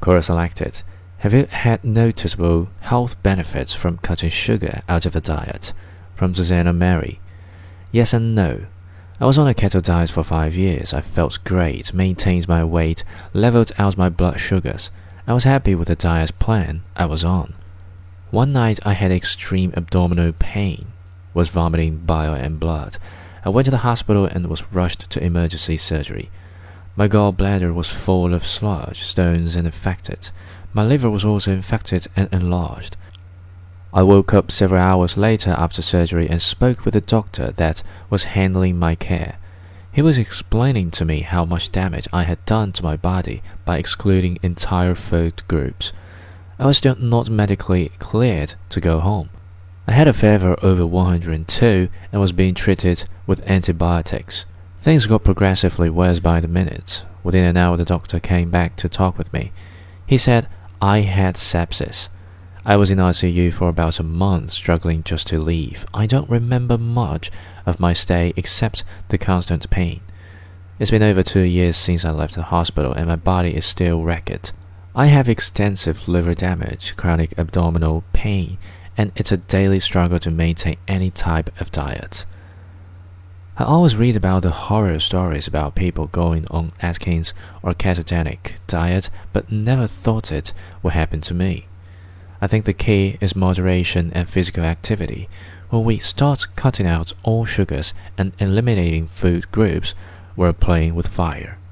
Quora selected. Have you had noticeable health benefits from cutting sugar out of a diet? From Susanna Mary. Yes and no. I was on a keto diet for 5 years. I felt great, maintained my weight, leveled out my blood sugars. I was happy with the diet plan I was on. One night I had extreme abdominal pain, was vomiting bile and blood. I went to the hospital and was rushed to emergency surgery. My gallbladder was full of sludge, stones, and infected. My liver was also infected and enlarged. I woke up several hours later after surgery and spoke with the doctor that was handling my care. He was explaining to me how much damage I had done to my body by excluding entire food groups. I was still not medically cleared to go home. I had a fever over 102 and was being treated with antibiotics. Things got progressively worse by the minute. Within an hour the doctor came back to talk with me. He said I had sepsis. I was in ICU for about a month, struggling just to leave. I don't remember much of my stay except the constant pain. It's been over 2 years since I left the hospital and my body is still wrecked. I have extensive liver damage, chronic abdominal pain, and it's a daily struggle to maintain any type of diet. I always read about the horror stories about people going on Atkins or ketogenic diet, but never thought it would happen to me. I think the key is moderation and physical activity. When we start cutting out all sugars and eliminating food groups, we're playing with fire.